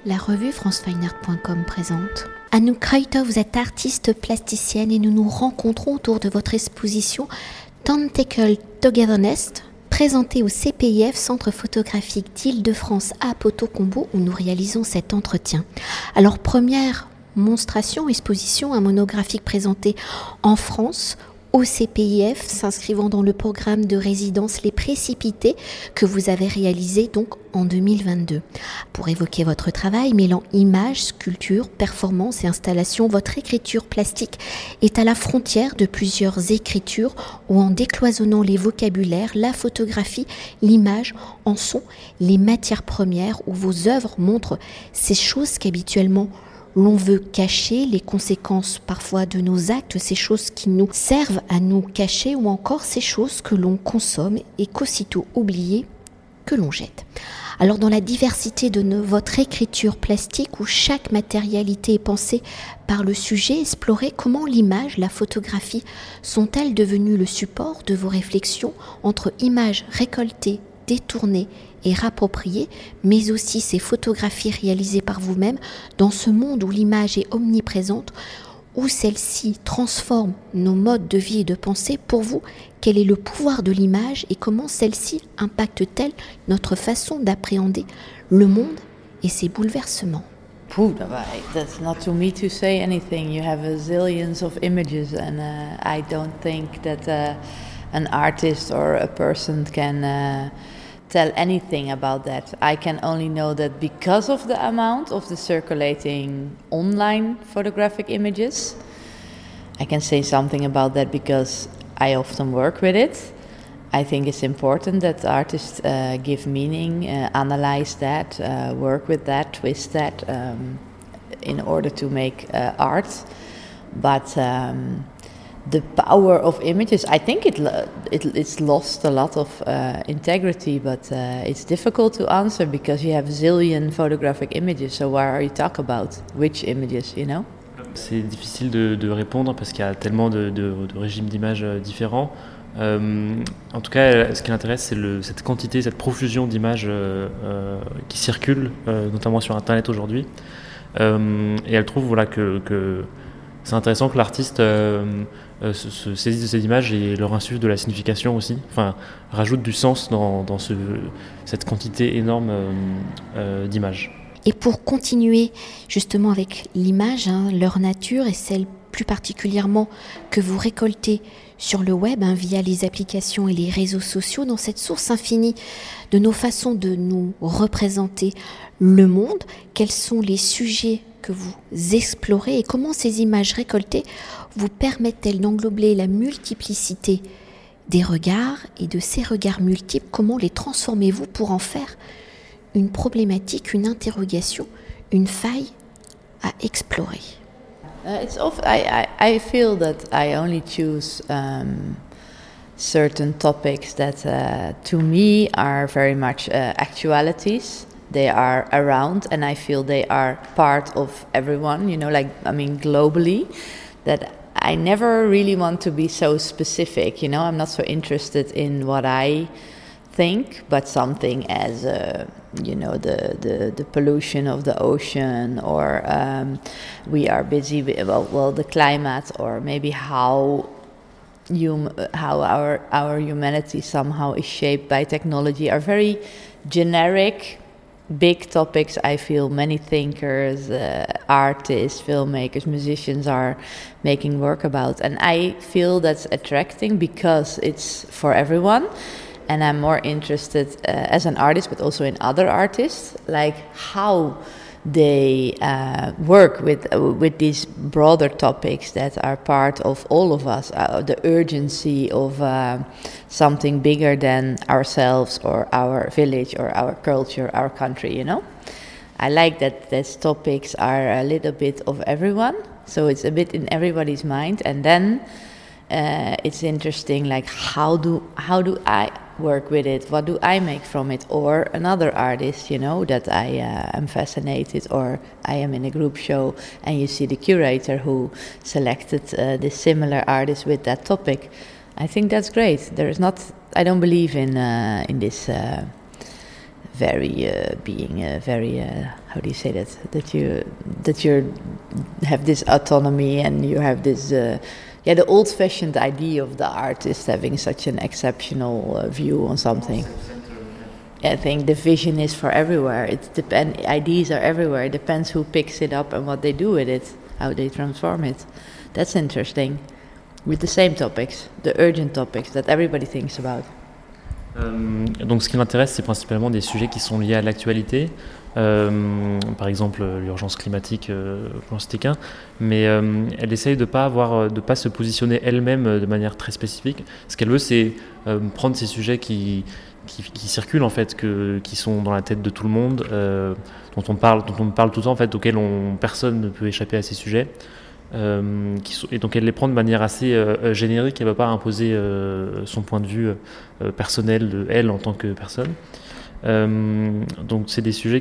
La revue francefineart.com présente. Anouk Kreuter, vous êtes artiste plasticienne et nous nous rencontrons autour de votre exposition Tentacle Togetherness, présentée au CPIF, Centre photographique d'Île-de-France à Poto-Combo, où nous réalisons cet entretien. Alors, première monstration, exposition, un monographique présenté en France, au CPIF, s'inscrivant dans le programme de résidence Les Précipités que vous avez réalisé donc en 2022. Pour évoquer votre travail, mêlant images, sculptures, performances et installations, votre écriture plastique est à la frontière de plusieurs écritures où, en décloisonnant les vocabulaires, la photographie, l'image en sont les matières premières, où vos œuvres montrent ces choses qu'habituellement l'on veut cacher, les conséquences parfois de nos actes, ces choses qui nous servent à nous cacher, ou encore ces choses que l'on consomme et qu'aussitôt oubliées, que l'on jette. Alors, dans la diversité de votre écriture plastique, où chaque matérialité est pensée par le sujet, explorez comment l'image, la photographie sont-elles devenues le support de vos réflexions entre images récoltées, détournées et rappropriées, mais aussi ces photographies réalisées par vous-même dans ce monde où l'image est omniprésente, où celle-ci transforme nos modes de vie et de pensée. Pour vous, quel est le pouvoir de l'image et comment celle-ci impacte-t-elle notre façon d'appréhender le monde et ses bouleversements? That's not to me to say anything. You have a zillions of images, and I don't think that an artist or a person can tell anything about that. I can only know that because of the amount of the circulating online photographic images, I can say something about that because I often work with it. I think it's important that artists give meaning, analyze that, work with that, twist that in order to make art. But the power of images, I think it's lost a lot of integrity, but it's difficult to answer because you have a zillion photographic images. So what are you talking about? Which images, you know? C'est difficile de répondre parce qu'il y a tellement de régimes d'images différents. En tout cas, ce qui l'intéresse, c'est cette quantité, cette profusion d'images qui circulent, notamment sur Internet aujourd'hui. Et elle trouve que c'est intéressant que l'artiste se saisisse de ces images et leur insuffle de la signification aussi, enfin rajoute du sens dans cette quantité énorme d'images. Et pour continuer justement avec l'image, leur nature et celle plus particulièrement que vous récoltez sur le web via les applications et les réseaux sociaux, dans cette source infinie de nos façons de nous représenter le monde, quels sont les sujets que vous explorez et comment ces images récoltées vous permettent-elles d'englober la multiplicité des regards et de ces regards multiples, comment les transformez-vous pour en faire une problématique, une interrogation, une faille à explorer? I feel that I only choose certain topics that to me are very much actualities. They are around and I feel they are part of everyone, globally, that I never really want to be so specific, I'm not so interested in what I think, but something as the pollution of the ocean, or we are busy with the climate, or maybe how our humanity somehow is shaped by technology, are very generic big topics. I feel many thinkers, artists, filmmakers, musicians are making work about, and I feel that's attracting because it's for everyone. And I'm more interested as an artist, but also in other artists, like how they work with these broader topics that are part of all of us, the urgency of something bigger than ourselves or our village or our culture, our country, I like that these topics are a little bit of everyone, so it's a bit in everybody's mind, and then it's interesting, like how do I work with it, what do I make from it, or another artist, that I am fascinated, or I am in a group show and you see the curator who selected this similar artist with that topic. I think that's great. I don't believe in this very how do you say that? That you have this autonomy and you have this the old-fashioned idea of the artist having such an exceptional view on something. I think the vision is for everywhere. Ideas are everywhere. It depends who picks it up and what they do with it, how they transform it. That's interesting. With the same topics, the urgent topics that everybody thinks about. Donc ce qui m'intéresse, c'est principalement des sujets qui sont liés à l'actualité, par exemple l'urgence climatique, pour en citer qu'un, mais elle essaye de pas se positionner elle-même de manière très spécifique. Ce qu'elle veut, c'est prendre ces sujets qui circulent en fait, qui sont dans la tête de tout le monde, dont on parle tout le temps en fait, auxquels personne ne peut échapper à ces sujets. Et donc elle les prend de manière assez générique, elle ne va pas imposer son point de vue personnel de elle en tant que personne. Donc c'est des sujets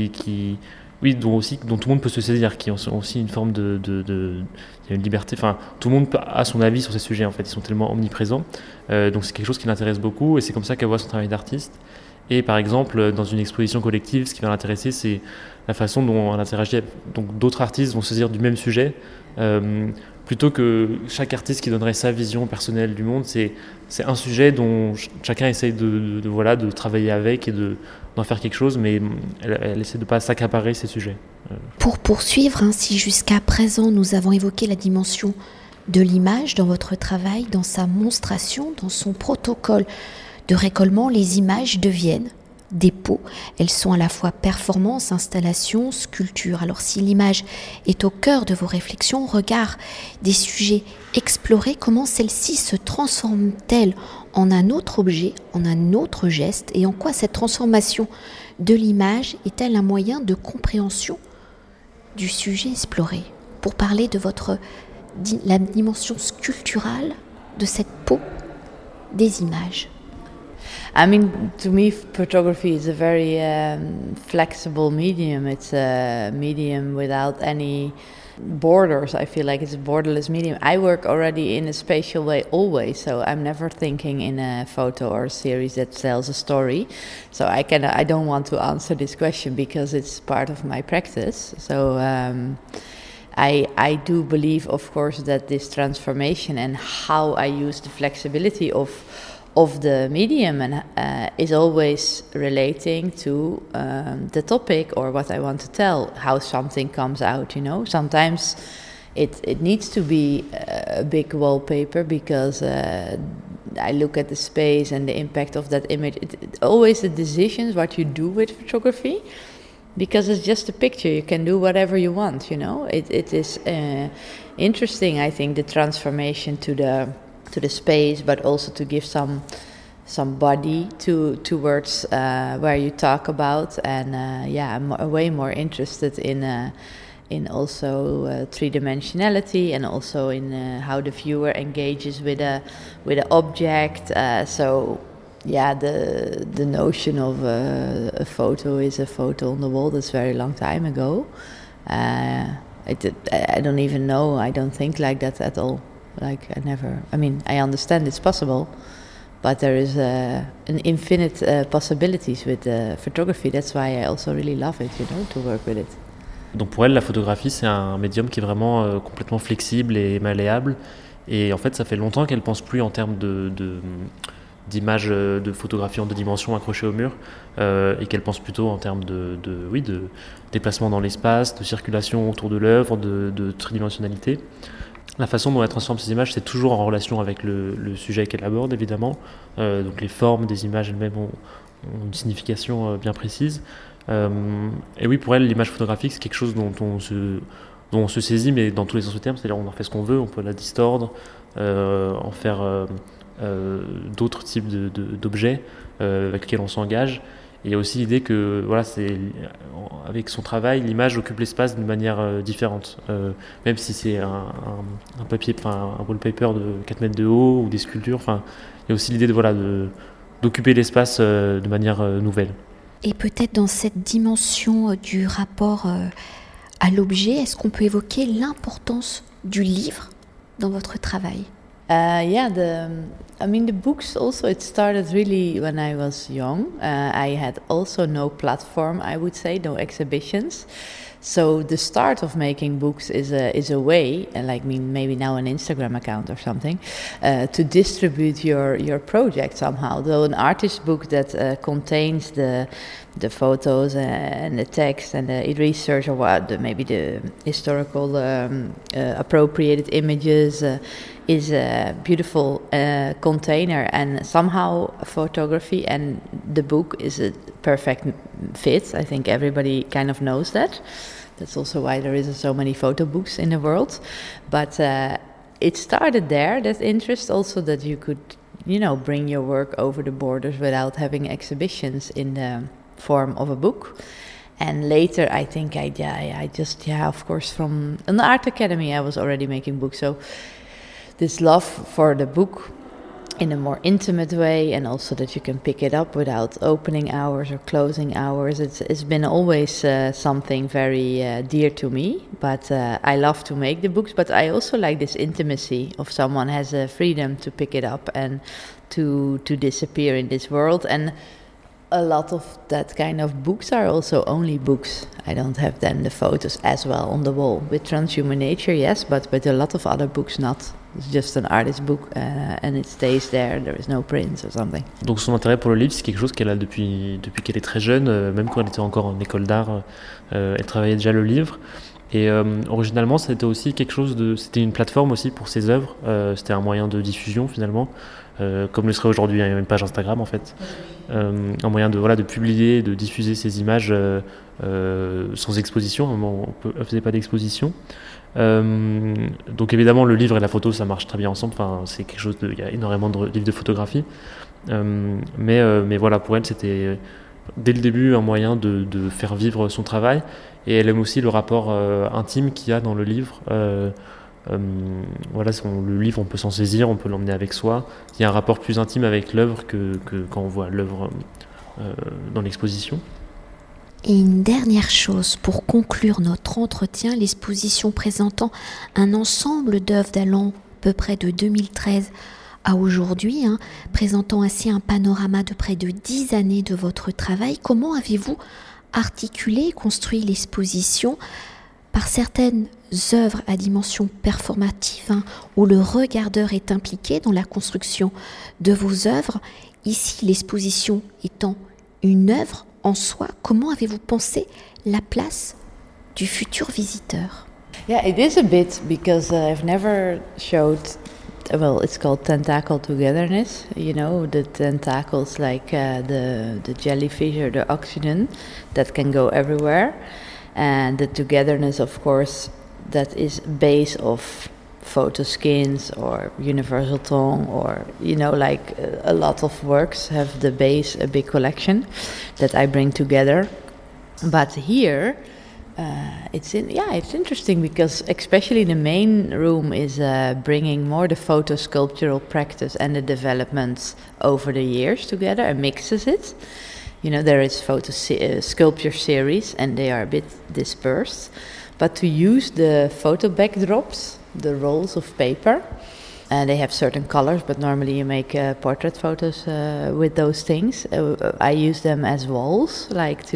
dont tout le monde peut se saisir, qui ont aussi une forme il y a une liberté, enfin tout le monde a son avis sur ces sujets en fait, ils sont tellement omniprésents, donc c'est quelque chose qui l'intéresse beaucoup et c'est comme ça qu'elle voit son travail d'artiste. Et par exemple, dans une exposition collective, ce qui va l'intéresser, c'est la façon dont elle interagit. Donc d'autres artistes vont se saisir du même sujet, plutôt que chaque artiste qui donnerait sa vision personnelle du monde. C'est un sujet dont chacun essaye de travailler avec et d'en faire quelque chose, mais elle essaie de ne pas s'accaparer ces sujets. Pour poursuivre, si jusqu'à présent nous avons évoqué la dimension de l'image dans votre travail, dans sa monstration, dans son protocole de récollement, les images deviennent dépôts. Elles sont à la fois performance, installation, sculpture. Alors si l'image est au cœur de vos réflexions, au regard des sujets explorés, comment celle-ci se transforme-t-elle en un autre objet, en un autre geste, et en quoi cette transformation de l'image est-elle un moyen de compréhension du sujet exploré? Pour parler de la dimension sculpturale de cette peau des images. I mean, to me, photography is a very flexible medium. It's a medium without any borders. I feel like it's a borderless medium. I work already in a spatial way always, so I'm never thinking in a photo or a series that tells a story. So I don't want to answer this question because it's part of my practice. So I do believe, of course, that this transformation and how I use the flexibility of the medium and is always relating to the topic or what I want to tell, how something comes out, Sometimes it needs to be a big wallpaper because I look at the space and the impact of that image. Always the decisions, what you do with photography, because it's just a picture. You can do whatever you want, It is interesting, I think, the transformation to the space, but also to give some body towards where you talk about. And I'm way more interested in also three-dimensionality and also in how the viewer engages with a object. The notion of a photo is a photo on the wall, that's very long time ago. I don't even know. I don't think like that at all. I understand it's possible, but there is an infinite possibilities with photography. That's why I also really love it, to work with it. Donc pour elle, la photographie, c'est un médium qui est vraiment complètement flexible et malléable. Et en fait, ça fait longtemps qu'elle pense plus en termes d'images de photographie en 2 dimensions accrochées au mur, et qu'elle pense plutôt en termes de déplacement dans l'espace, de circulation autour de l'œuvre, de tridimensionnalité. La façon dont elle transforme ces images, c'est toujours en relation avec le sujet qu'elle aborde, évidemment. Donc les formes des images elles-mêmes ont une signification bien précise. Et oui, pour elle, l'image photographique, c'est quelque chose dont on se saisit, mais dans tous les sens du terme. C'est-à-dire on en fait ce qu'on veut, on peut la distordre, en faire d'autres types d'objets avec lesquels on s'engage. Et il y a aussi l'idée que avec son travail, l'image occupe l'espace d'une manière différente. Même si c'est un papier, un wallpaper de 4 mètres de haut ou des sculptures, il y a aussi l'idée d'occuper l'espace de manière nouvelle. Et peut-être dans cette dimension du rapport à l'objet, est-ce qu'on peut évoquer l'importance du livre dans votre travail ? The books also, it started really when I was young. I had also no platform, I would say, no exhibitions. So the start of making books is a way, maybe now an Instagram account or something, to distribute your project somehow. Though an artist book that contains the photos and the text and the research, or maybe the historical appropriated images, is a beautiful container, and somehow photography and the book is a perfect fit. I think everybody kind of knows that. That's also why there is so many photo books in the world. But it started there, that interest also, that you could, bring your work over the borders without having exhibitions in the form of a book. And later, I think of course, from an art academy, I was already making books. So this love for the book in a more intimate way, and also that you can pick it up without opening hours or closing hours, it's been always something very dear to me. But I love to make the books, but I also like this intimacy of someone has a freedom to pick it up and to disappear in this world. And a lot of that kind of books are also only books. I don't have then the photos as well on the wall. With Transhuman Nature, yes, but with a lot of other books, not. It's just an artist book and it stays there. There is no prints or something. Donc son intérêt pour le livre, c'est quelque chose qu'elle a depuis qu'elle est très jeune, même quand elle était encore en école d'art, elle travaillait déjà le livre. Et originalement, c'était aussi c'était une plateforme aussi pour ses œuvres. C'était un moyen de diffusion finalement, comme le serait aujourd'hui une page Instagram en fait. Un moyen de publier, de diffuser ses images sans exposition. Elle ne faisait pas d'exposition. Donc évidemment, le livre et la photo, ça marche très bien ensemble. Enfin, c'est quelque chose il y a énormément de livres de photographie. Mais voilà, pour elle, c'était dès le début un moyen de faire vivre son travail. Et elle aime aussi le rapport intime qu'il y a dans le livre. Le livre, on peut s'en saisir, on peut l'emmener avec soi. Il y a un rapport plus intime avec l'œuvre que quand on voit l'œuvre dans l'exposition. Et une dernière chose pour conclure notre entretien, l'exposition présentant un ensemble d'œuvres d'allant à peu près de 2013 à aujourd'hui, présentant ainsi un panorama de près de 10 années de votre travail. Comment avez-vous articulé et construit l'exposition par certaines œuvres à dimension performative, où le regardeur est impliqué dans la construction de vos œuvres? Ici, l'exposition étant une œuvre en soi, comment avez-vous pensé la place du futur visiteur? Yeah, it is a bit, because I've never showed, well, it's called tentacle togetherness, the tentacles like the jellyfish or the oxygen that can go everywhere. And the togetherness, of course, that is base of photo skins or universal tongue, or a lot of works have the base, a big collection that I bring together. But here it's interesting, because especially the main room is bringing more the photo sculptural practice and the developments over the years together and mixes it. There is photo sculpture series, and they are a bit dispersed. But to use the photo backdrops, the rolls of paper, they have certain colors, but normally you make portrait photos with those things. I use them as walls,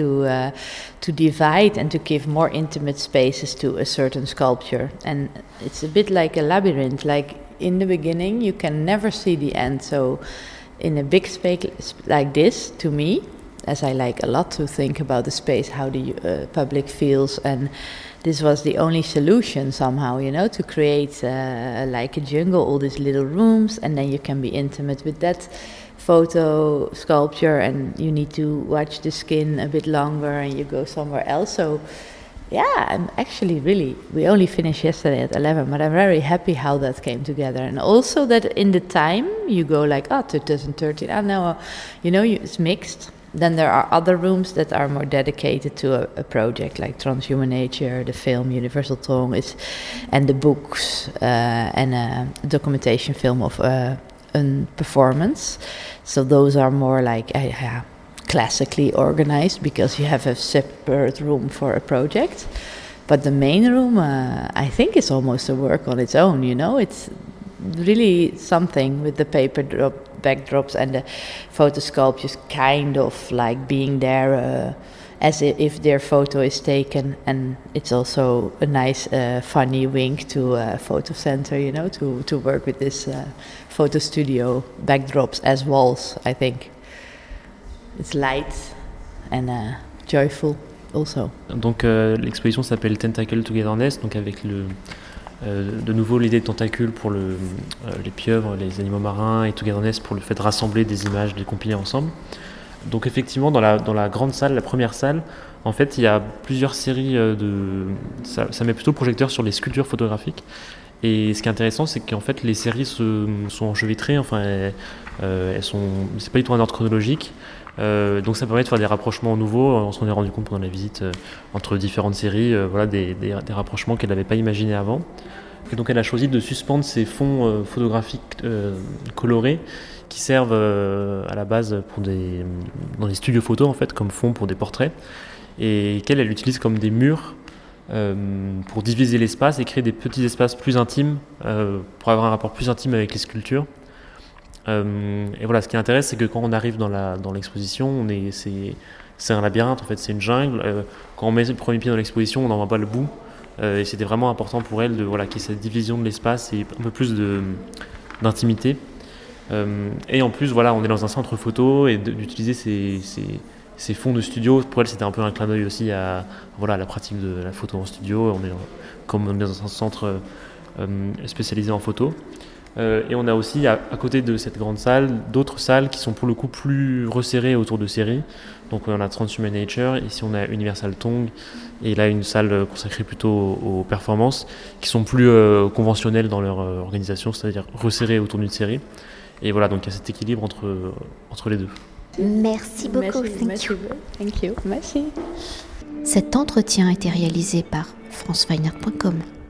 to divide and to give more intimate spaces to a certain sculpture. And it's a bit like a labyrinth. Like in the beginning, you can never see the end. So in a big space like this, to me, as I like a lot to think about the space, how the public feels, and this was the only solution somehow, to create like a jungle, all these little rooms, and then you can be intimate with that photo sculpture, and you need to watch the skin a bit longer, and you go somewhere else. So yeah, I'm actually we only finished yesterday at 11, but I'm very happy how that came together. And also that in the time you go 2013, now, it's mixed. Then there are other rooms that are more dedicated to a project, like Transhuman Nature, the film Universal Tongue, and the books, and a documentation film of a performance. So those are more classically organized, because you have a separate room for a project. But the main room, I think, is almost a work on its own. really something with the backdrops and the photo sculptures, kind of like being there as if their photo is taken. And it's also a nice funny wink to Photo Center, you know, to work with this photo studio backdrops as walls. I think it's light and joyful also. Donc l'exposition s'appelle Tentacle Togetherness, donc avec de nouveau l'idée de tentacule pour les pieuvres, les animaux marins, et Togetherness pour le fait de rassembler des images, de les compiler ensemble. Donc effectivement, dans la grande salle, la première salle, en fait, il y a plusieurs séries ça met plutôt le projecteur sur les sculptures photographiques. Et ce qui est intéressant, c'est qu'en fait, les séries sont enchevêtrées, enfin, c'est pas du tout un ordre chronologique. Donc ça permet de faire des rapprochements nouveaux. On s'en est rendu compte pendant la visite entre différentes séries, voilà, des rapprochements qu'elle n'avait pas imaginés avant. Et donc elle a choisi de suspendre ces fonds photographiques colorés qui servent à la base dans des studios photos en fait, comme fond pour des portraits, et qu'elle utilise comme des murs pour diviser l'espace et créer des petits espaces plus intimes pour avoir un rapport plus intime avec les sculptures. Et voilà, ce qui intéresse, c'est que quand on arrive dans l'exposition, c'est un labyrinthe en fait, c'est une jungle. Quand on met le premier pied dans l'exposition, on n'en voit pas le bout. Et c'était vraiment important pour elle qu'il y ait cette division de l'espace et un peu plus d'intimité. Et en plus, voilà, on est dans un centre photo et d'utiliser ces fonds de studio, pour elle, c'était un peu un clin d'œil aussi à la pratique de la photo en studio. Comme on est dans un centre spécialisé en photo. Et on a aussi, à côté de cette grande salle, d'autres salles qui sont pour le coup plus resserrées autour de séries. Donc on a Transhuman Nature, ici on a Universal Tongue, et là une salle consacrée plutôt aux performances, qui sont plus conventionnelles dans leur organisation, c'est-à-dire resserrées autour d'une série. Et voilà, donc il y a cet équilibre entre les deux. Merci beaucoup. Thank you. Merci. Cet entretien a été réalisé par franceweiner.com.